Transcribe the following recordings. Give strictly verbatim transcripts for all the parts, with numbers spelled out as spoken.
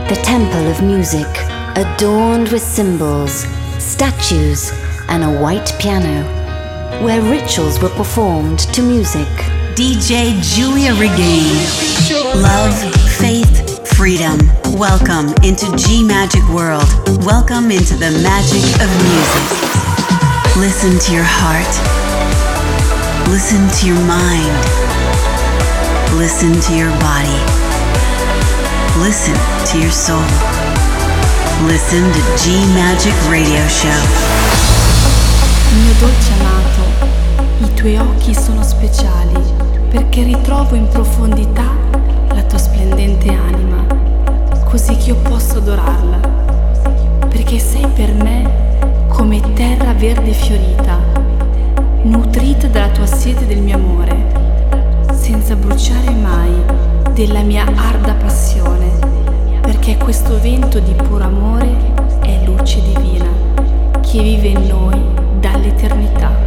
the temple of music, adorned with symbols, statues, and a white piano, where rituals were performed to music. D J Giulia Regain. Love, faith, freedom. Welcome into G Magic World. Welcome into the magic of music. Listen to your heart. Listen to your mind. Listen to your body. Listen to your soul. Listen to G Magic Radio Show. Mio dolce amato, i tuoi occhi sono speciali perché ritrovo in profondità la tua splendente anima, così che io posso adorarla, perché sei per me come terra verde fiorita, nutrita dalla tua sete del mio amore, senza bruciare mai della mia arda passione, perché questo vento di puro amore è luce divina che vive in noi dall'eternità.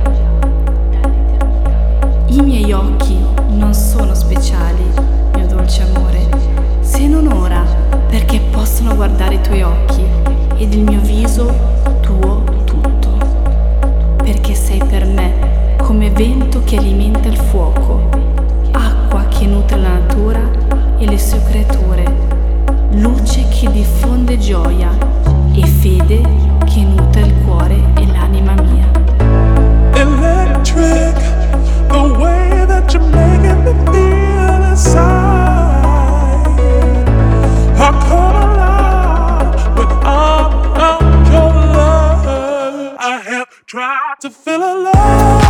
I miei occhi non sono speciali, mio dolce amore, se non ora, perché possono guardare i tuoi occhi ed il mio viso tuo tutto, perché sei per me come vento che alimenta il fuoco, acqua che nutre la natura e le sue creature, luce che diffonde gioia e fede che nutre il cuore e l'anima mia. Electric, the way that you're making me feel inside. I come alive without your love. I have tried to feel alive.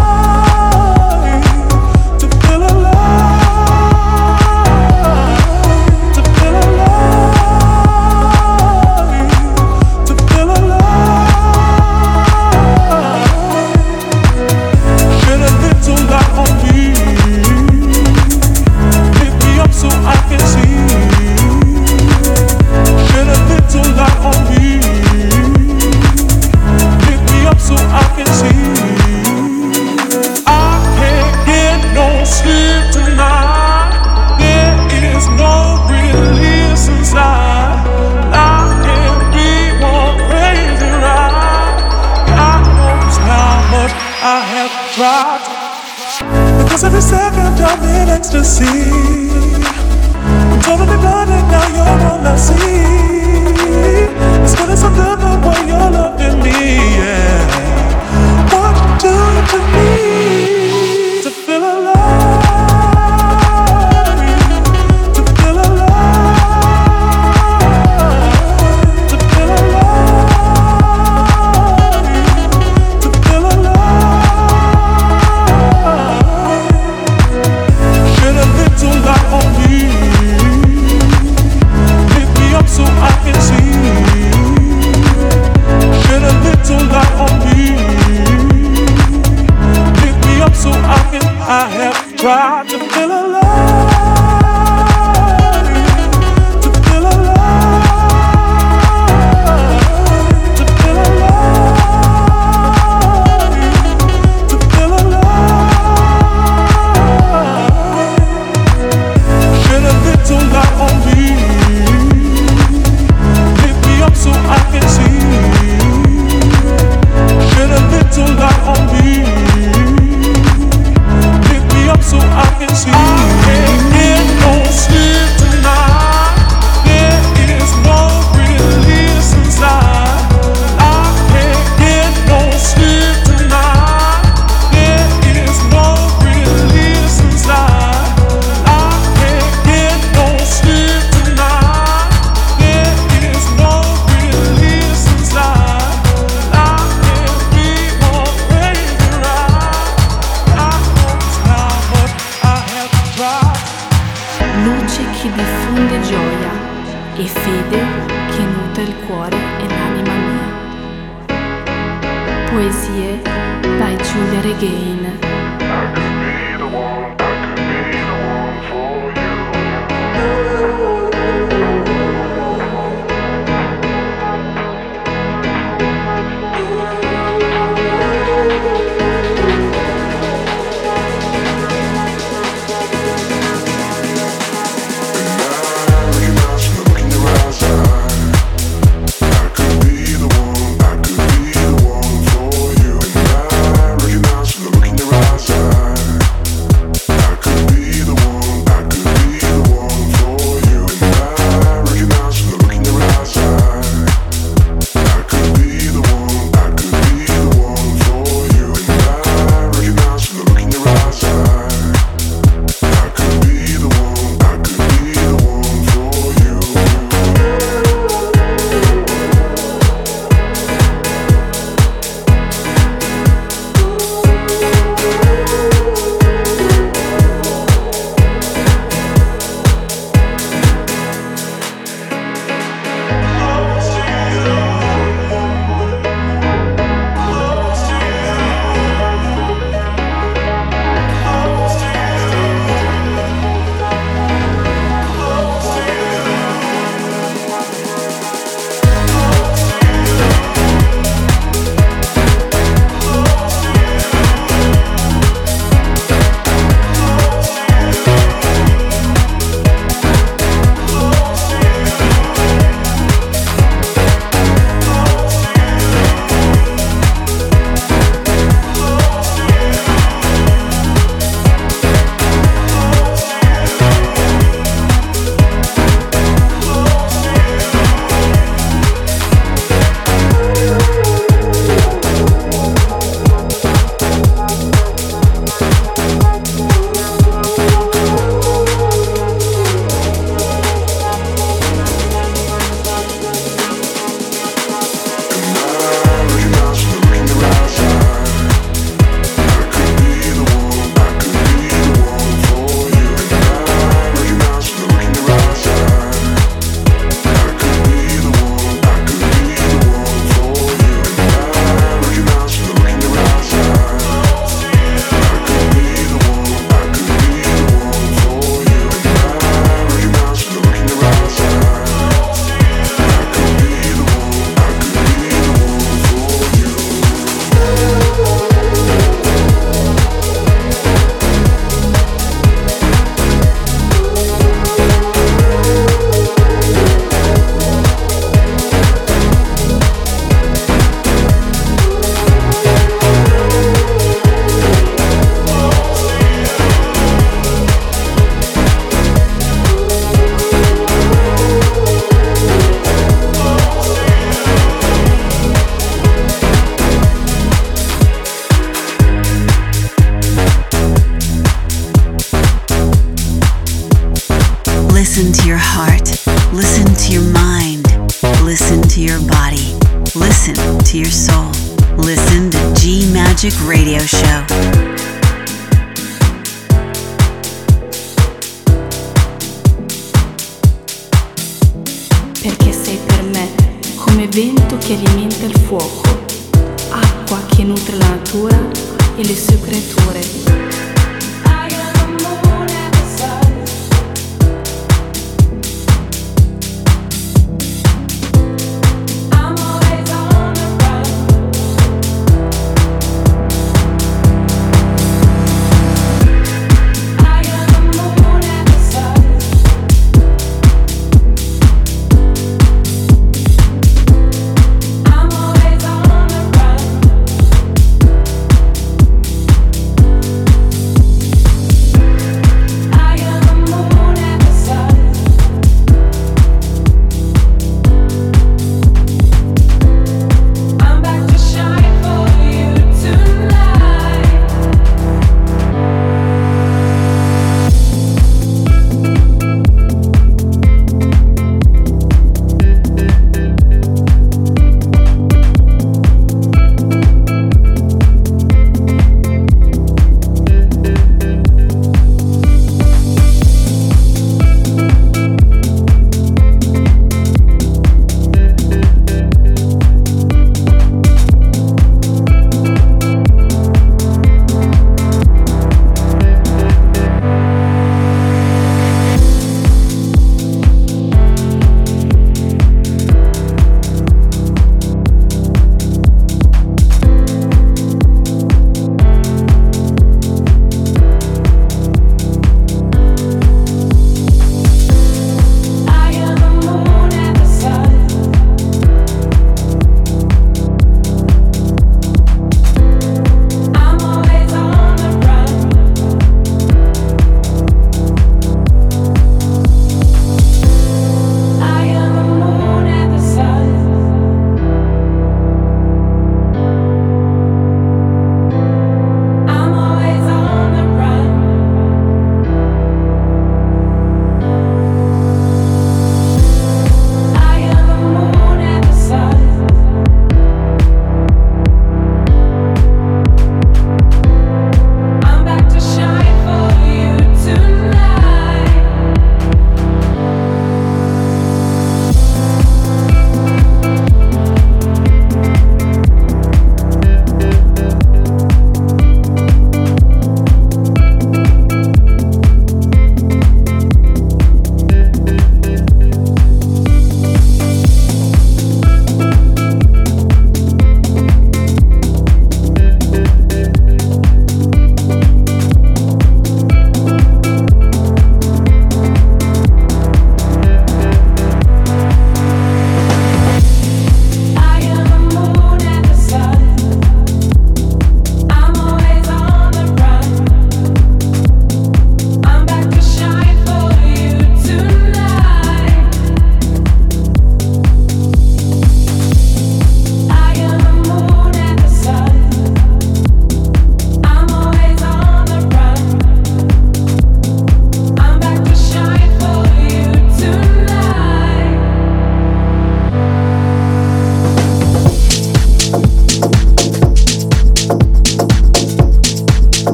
Because every second I'm in ecstasy, I'm totally blind and now you're all I see. It's feeling so good the way you're loving me, yeah. What do you to me to feel alive? To feel alive? To feel alive? To feel alive? So I can see. Shed a little light on me. Pick me up so I can. I have tried to feel alive. To feel alive. To feel alive. To feel alive. Shed a little light on me. So I can see. Shed a little light on me. Pick me up so I can see. I can't get no sleep tonight. There is no release inside. I can't get no sleep tonight. There is no release inside. I can't get no sleep tonight. There is no diffonde gioia e fede che nutre il cuore e l'anima mia. Poesie by Giulia Regain. Looking around, Listen to your heart. Listen to your mind. Listen to your body. Listen to your soul. Listen to G Magic Radio Show. Perché sei per me come vento che alimenta il fuoco, acqua che nutre la natura e le sue creature.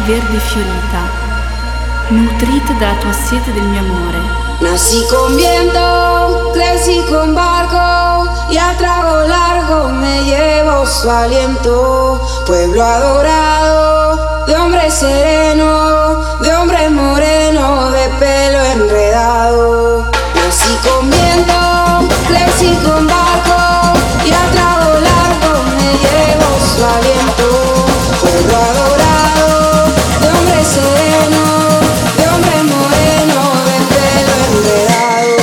verde fiorita, nutrita dalla tua sete del mio amore. Nací con viento, crecí con barco y a trago largo me llevo su aliento. Pueblo adorado, de hombre sereno, de hombre moreno, de pelo enredado. Nací con viento, crecí con barco y a trago largo me llevo su aliento. Pueblo adorado, de hombre sereno, de hombre moreno, de pelo enredado.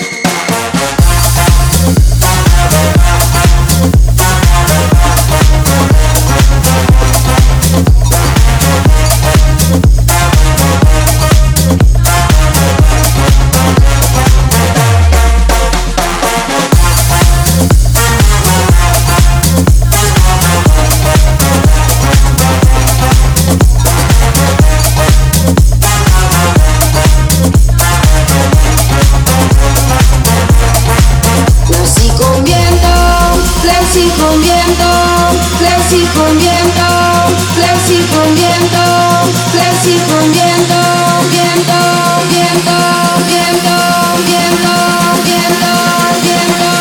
Crecí con viento, crecí con viento, crecí con viento, crecí con viento, viento, viento, viento, viento, viento, viento.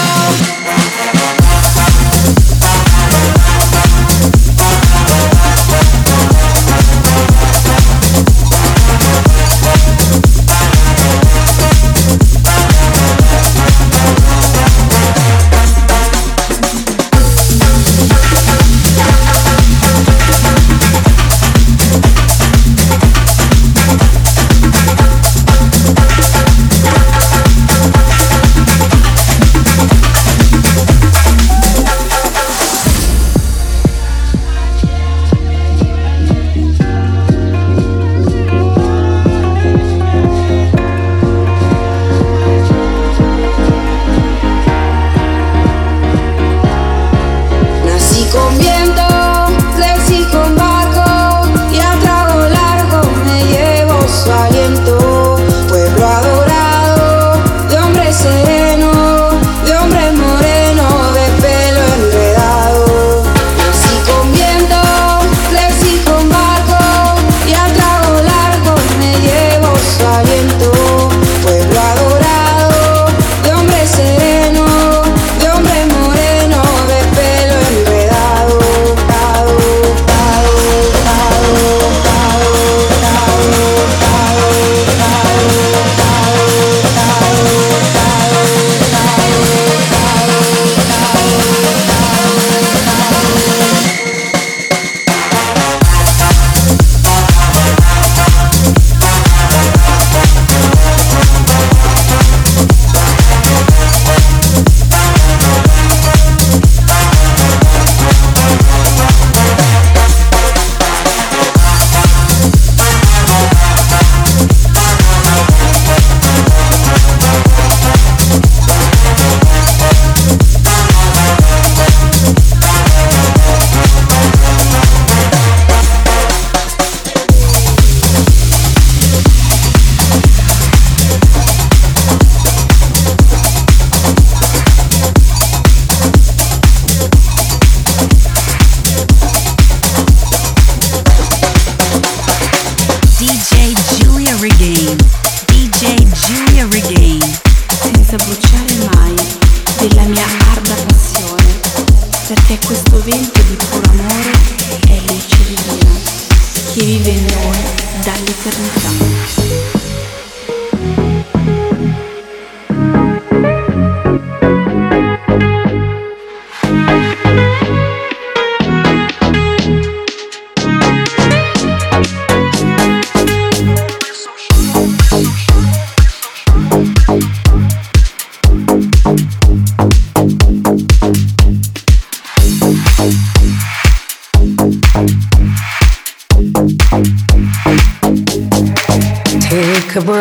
Take a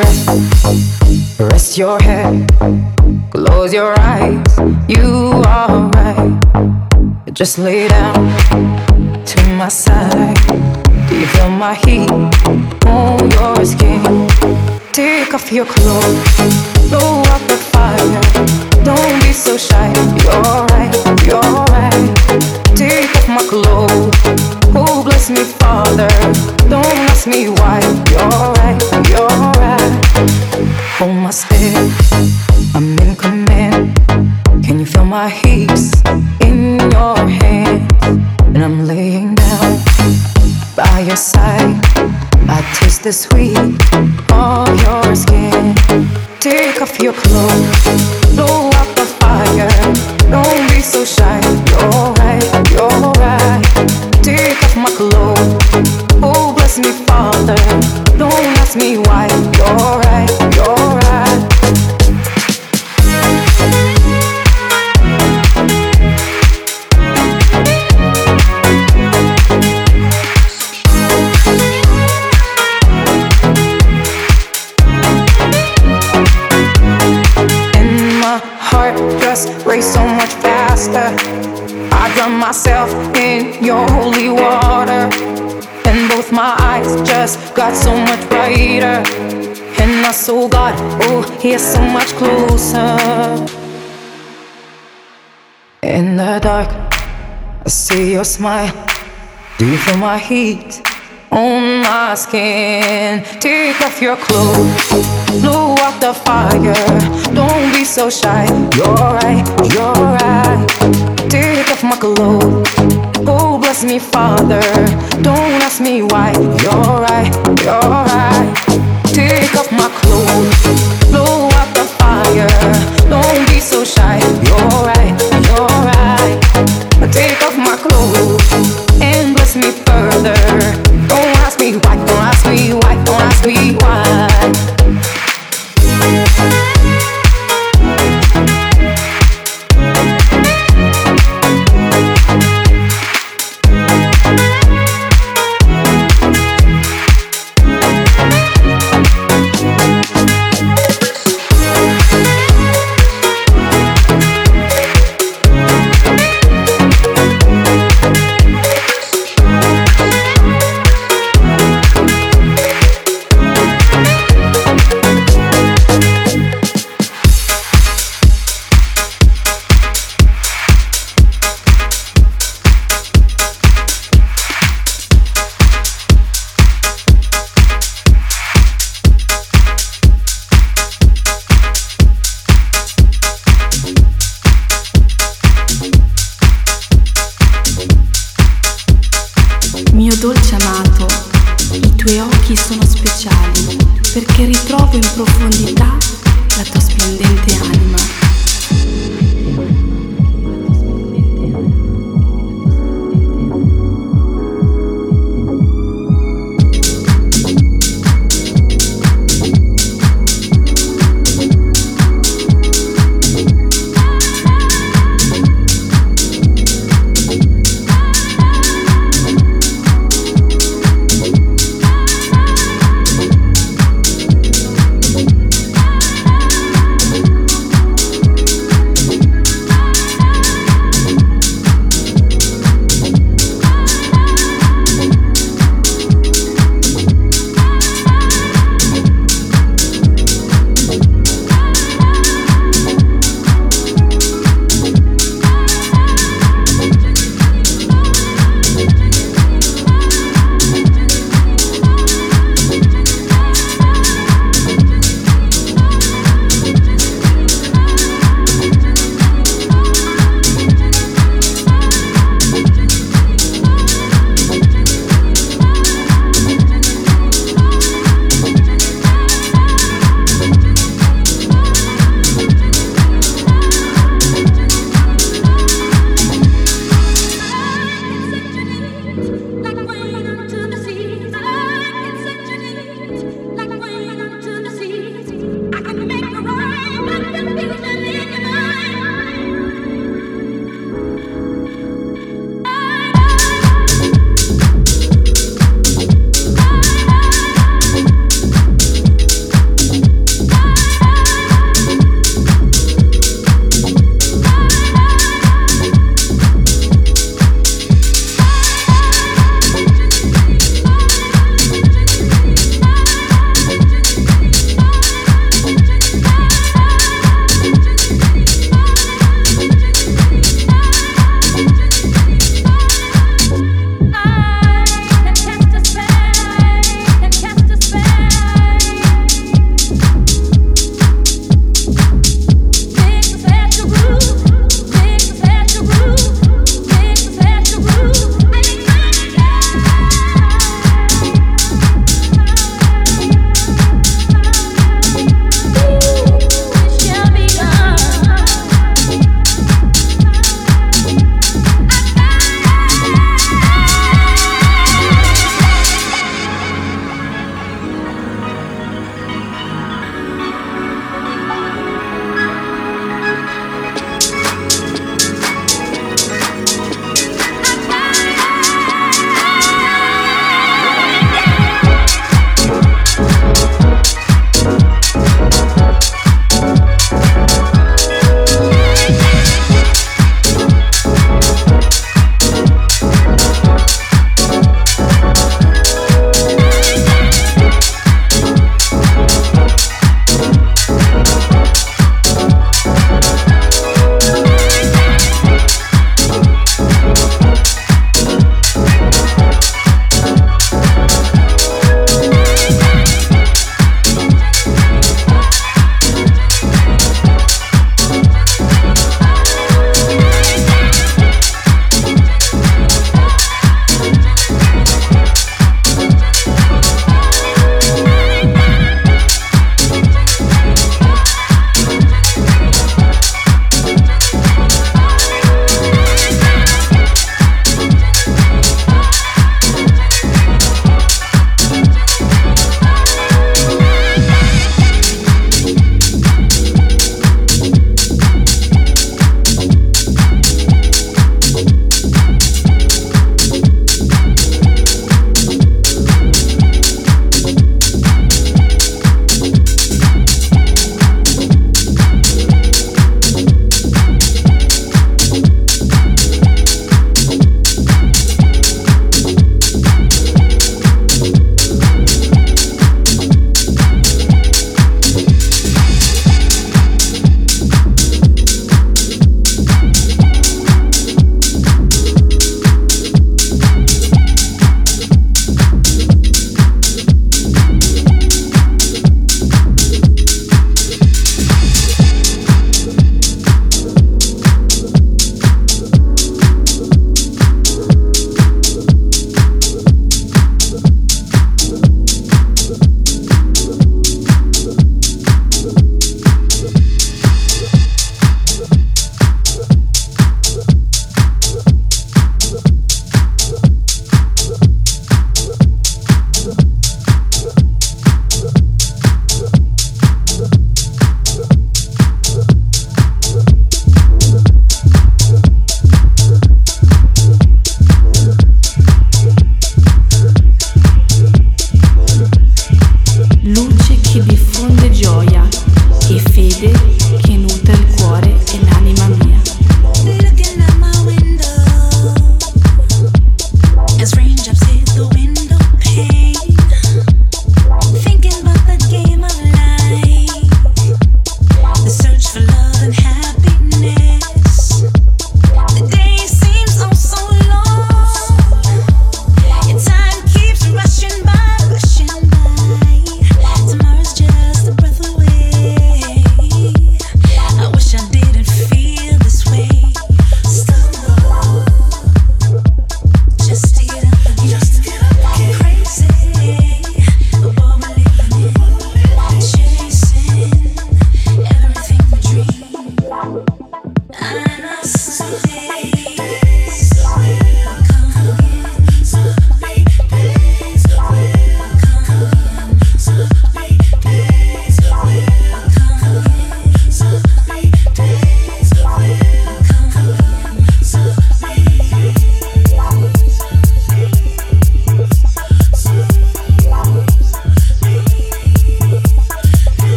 breath, rest your head, close your eyes, you are right. Just lay down to my side. Do you feel my heat on your skin? Take off your clothes, blow up the fire. Don't be so shy, you're right, you're right. Take off my clothes, oh bless me Father. Don't the sweet of your skin. Take off your clothes, blow out the fire. Don't be so shy. You're right, you're right. Take off my clothes. Oh, bless me, Father. Don't ask me why. You're right, you're right. Race so much faster. I drown myself in your holy water, and both my eyes just got so much brighter. And I saw God, oh, He's so much closer. In the dark, I see your smile. Do you feel my heat on my skin? Take off your clothes, blow out the fire. Don't be so shy. You're right, you're right. Take off my clothes. Oh, bless me, Father. Don't ask me why. You're right, you're right. Take off my clothes, blow out the fire. Don't be so shy. You're right, you're right. Take off my clothes and bless me further. Don't ask me why, don't ask me why, don't ask me why. Mio dolce amato, i tuoi occhi sono speciali perché ritrovo in profondità la tua splendente anima.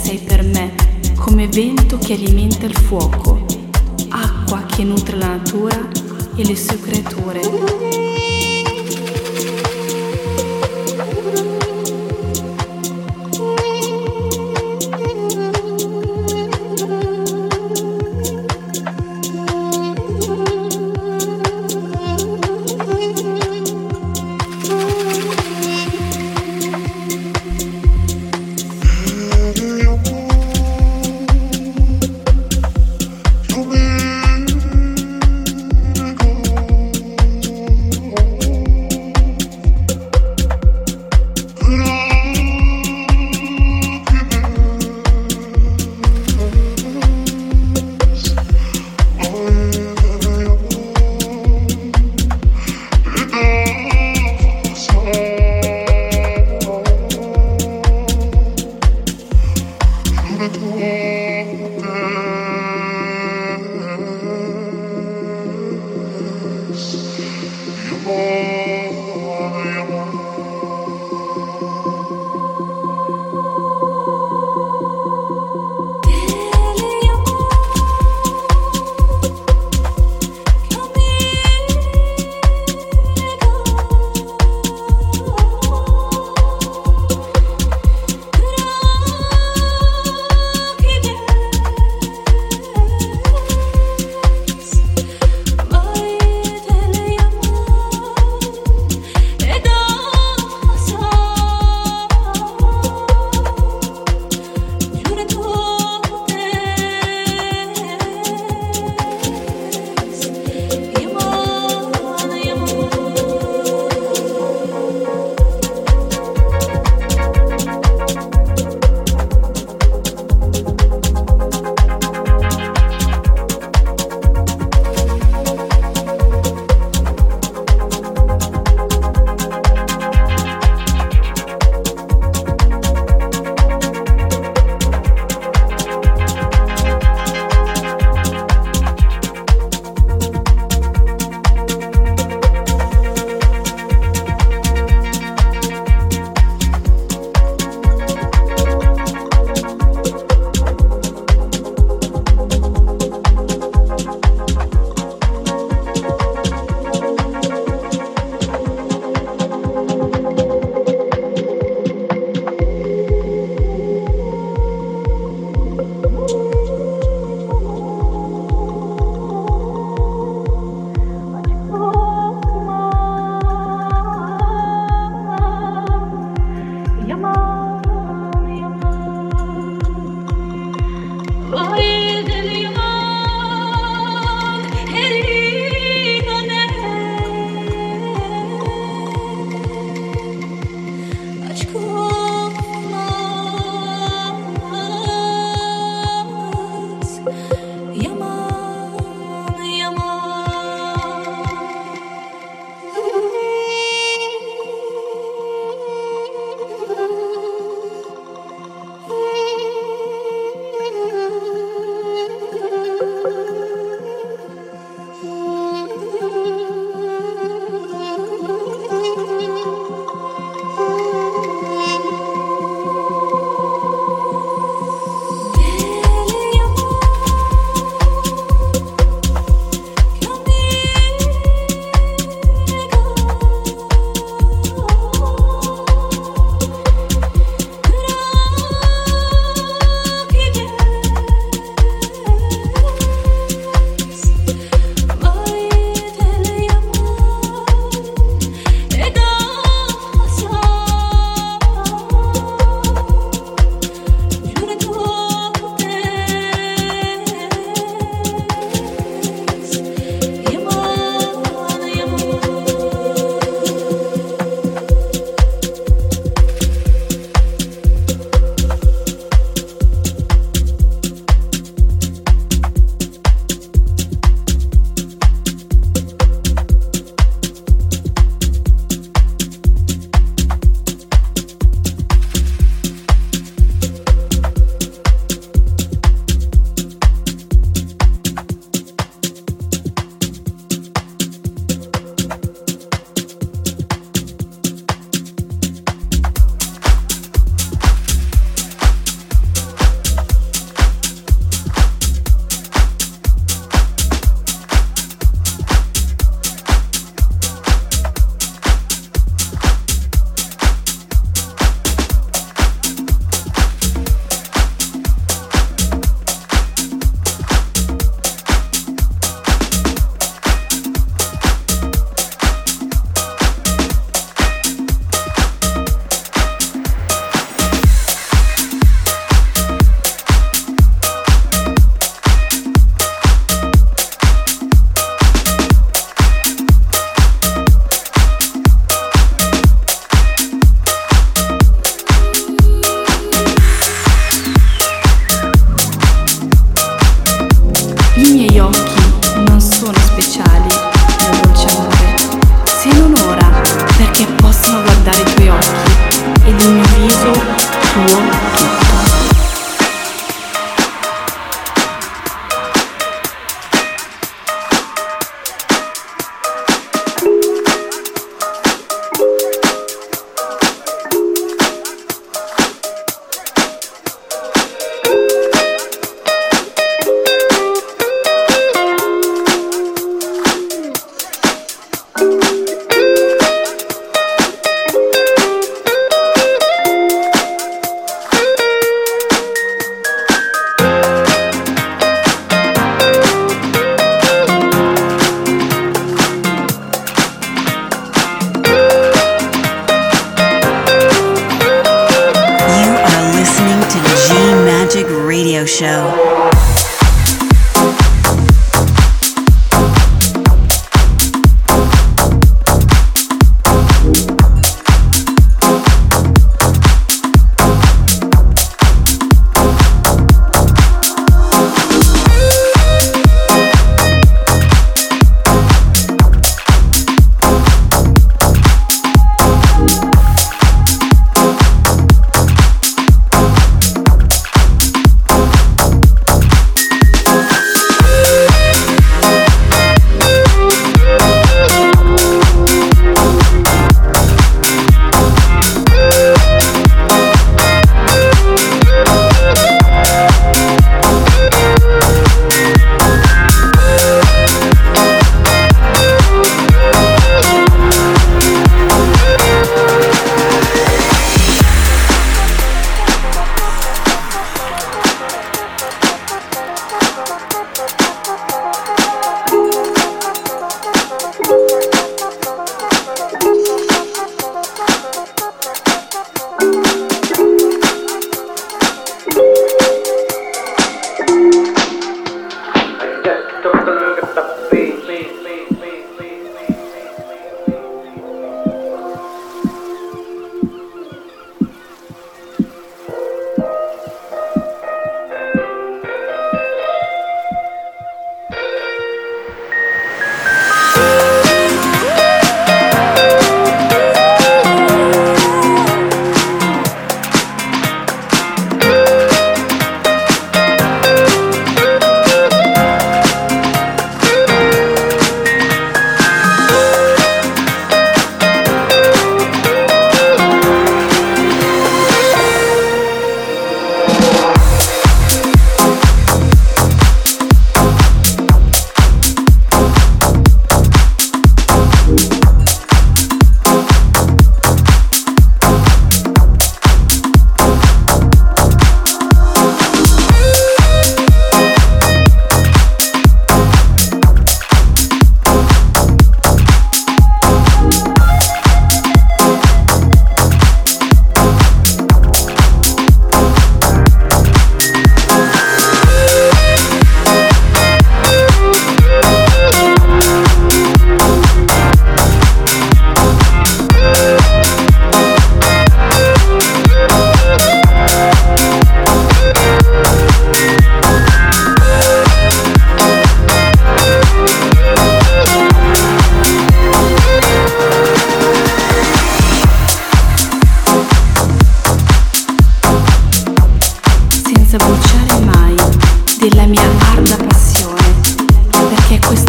sei per me come vento che alimenta il fuoco, acqua che nutre la natura e le sue creature. You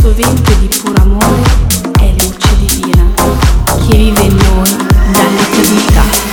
sovente di puro amore è luce divina che vive in noi dall'eternità.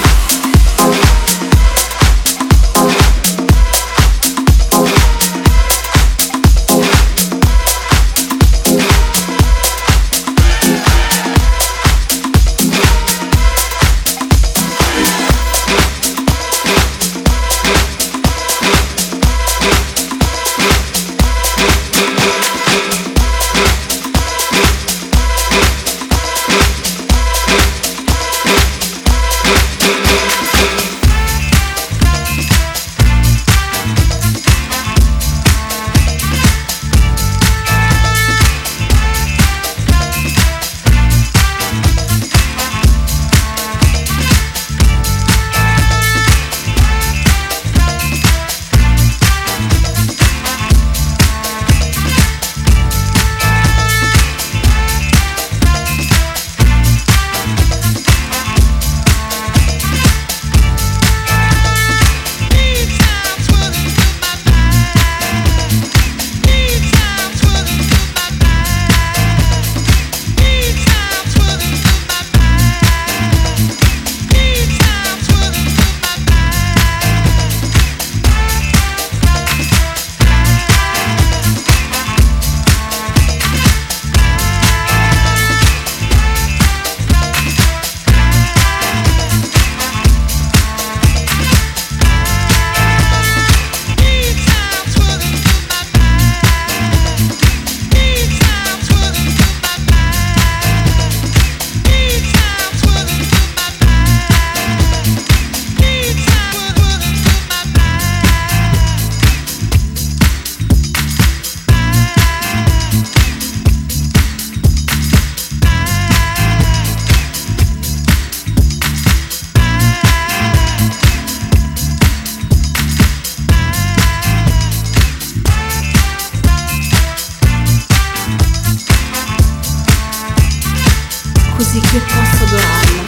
Così che io posso adorarla,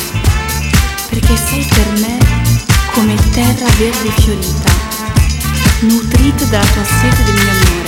perché sei per me come terra verde fiorita, nutrita dalla tua sete del mio amore.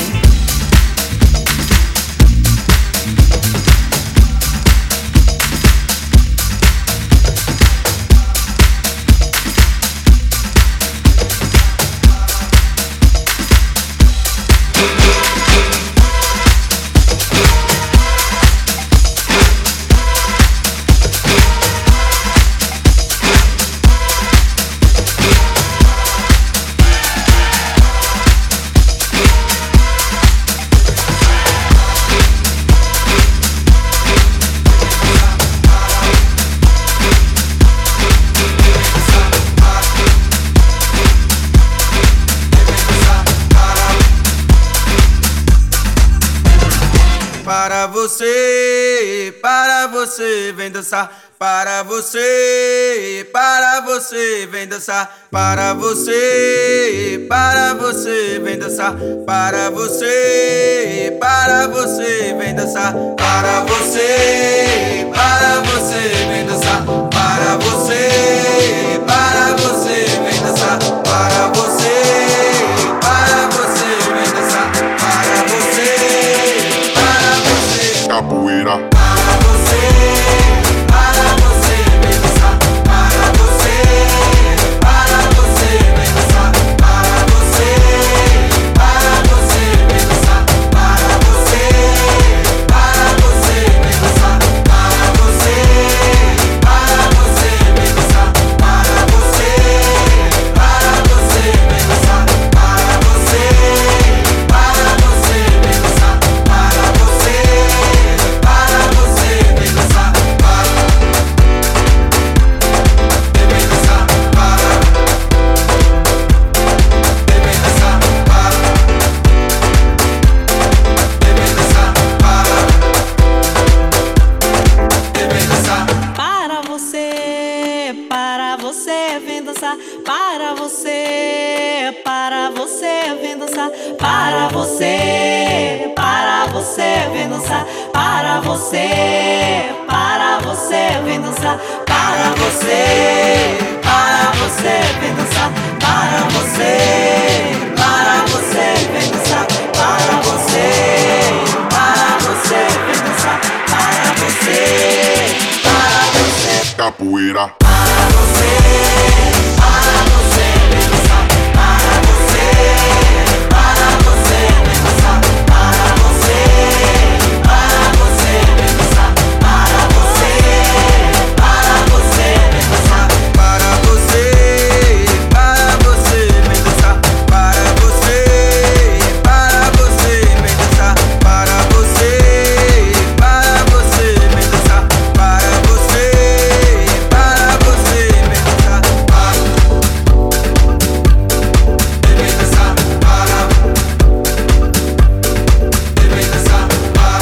Para você, para você, vem dançar. Para você, para você, vem dançar. Para você, para você, vem dançar. Para você, para você, vem dançar. Para você, para você, vem dançar. Para você, para você, vem dançar. Para você, para você, vem dançar. Para você, para você, capoeira. Para você, para você, vem dançar. Para você, para você, vem dançar. Para você, para você, vem dançar. Para você, para você, vem dançar. Para você, para você, vem dançar. Para você, para você. capoeira. Para você, para você, vem dançar. Para você, para você, vem dançar. Para você, para você, vem dançar. Para você, para você, vem dançar. Para você, para você, vem dançar. Para você, para você, vem dançar. Para você, para você, vem dançar. Para você, para você, vem dançar. Para, vem dançar. Para, vem dançar. Para,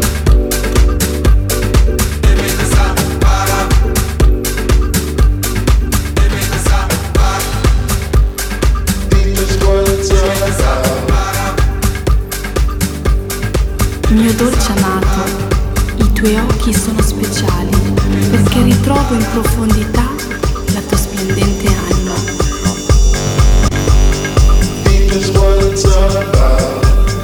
vem dançar. Para, vem dançar. Para, Mio dolce amato, i tuoi occhi sono speciali perché ritrovo in profondità la tua splendente anima. Deep is what it's all about.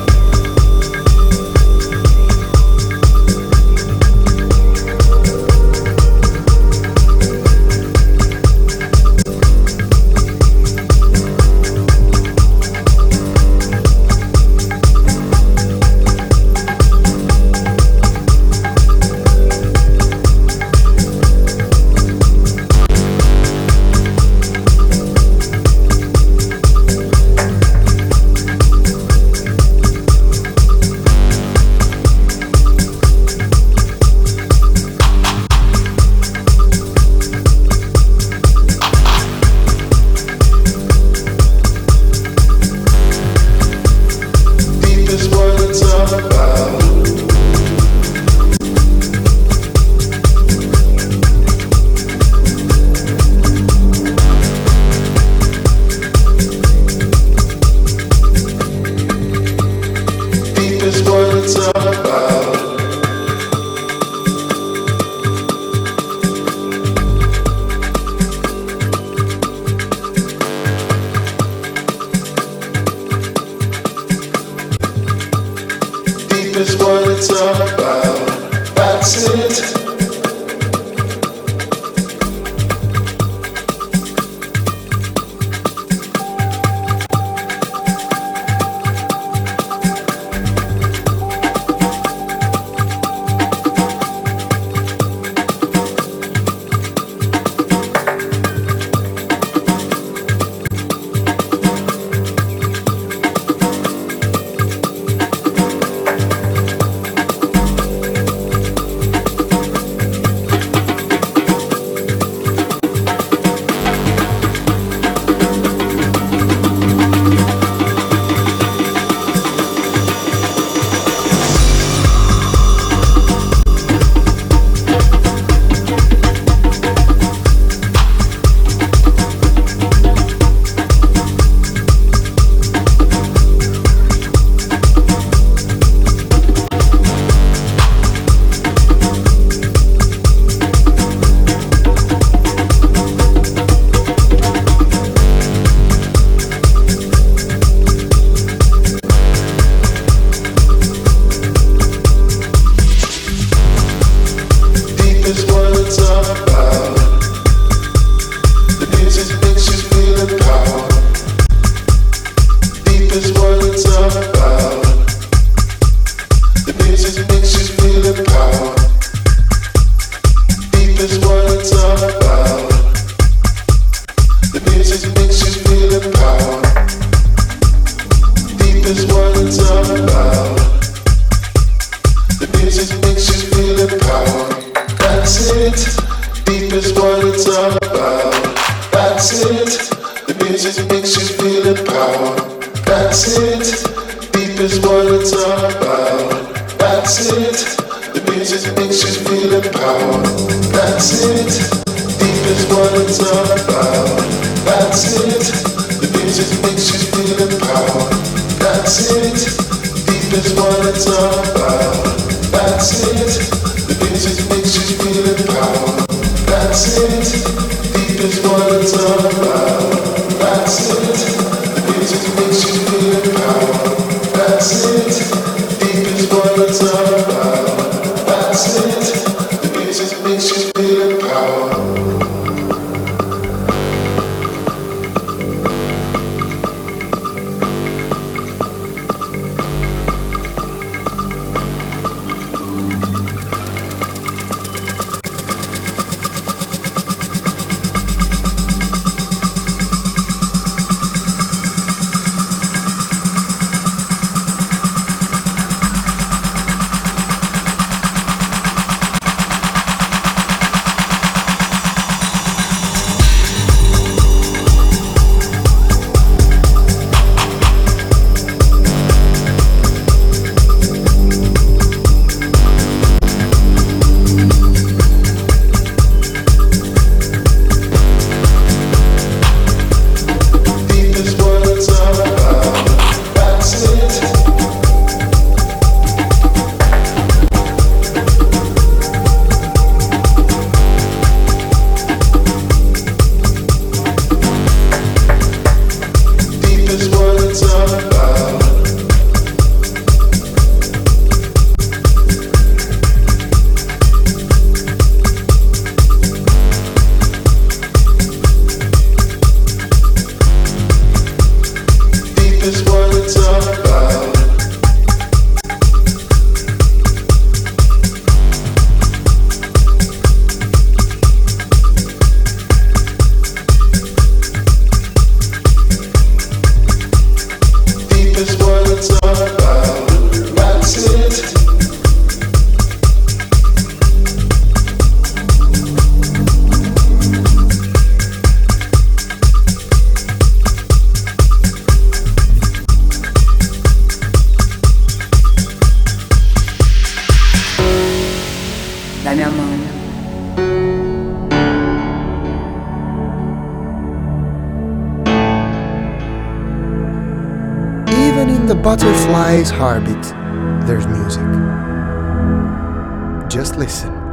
Deep is what it's all about. Deep is what it's all about. Deep is what it's all about. That's it. Deep is what it's all about. The music makes you feel the power. Deep is what it's all about. The music makes you feel the power. Deep is what it's all about. The music makes you feel the power. Deep is what it's all about. The music makes you feel the power. That's it. Deep is what it's all about. That's it. The music makes you feel the power. That's it. Deep is what it's all about. That's it. The music makes you feel the power. That's it. Deep is what it's all about. That's it. The music makes you feel the power. That's it. Deep is what it's all about. That's it. The music makes you feel the power. That's it. Deep is what it's all about. That's it. The music makes you feel the power. That's it. Deep is what it's all about. That's it. The music makes you feel the power. dai mia mano. Even in the butterfly's heartbeat, there's music. Just listen.